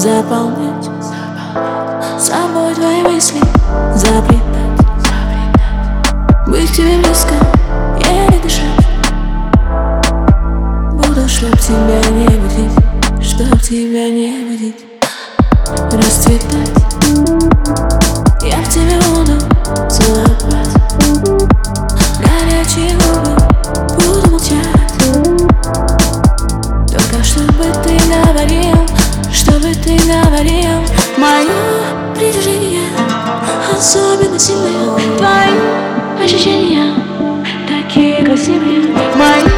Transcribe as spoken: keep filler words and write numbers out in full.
заполнять собой твои мысли, заплетать, быть к тебе близко, еле дышать. Буду, чтоб тебя не будить, чтоб тебя не будить, расцветать. Я в тебе буду целовать, горячие губы буду молчать. Только чтобы ты говорил, чтобы ты говорил. Мое притяжение особенно сильное, твои ощущения такие красивые. Мои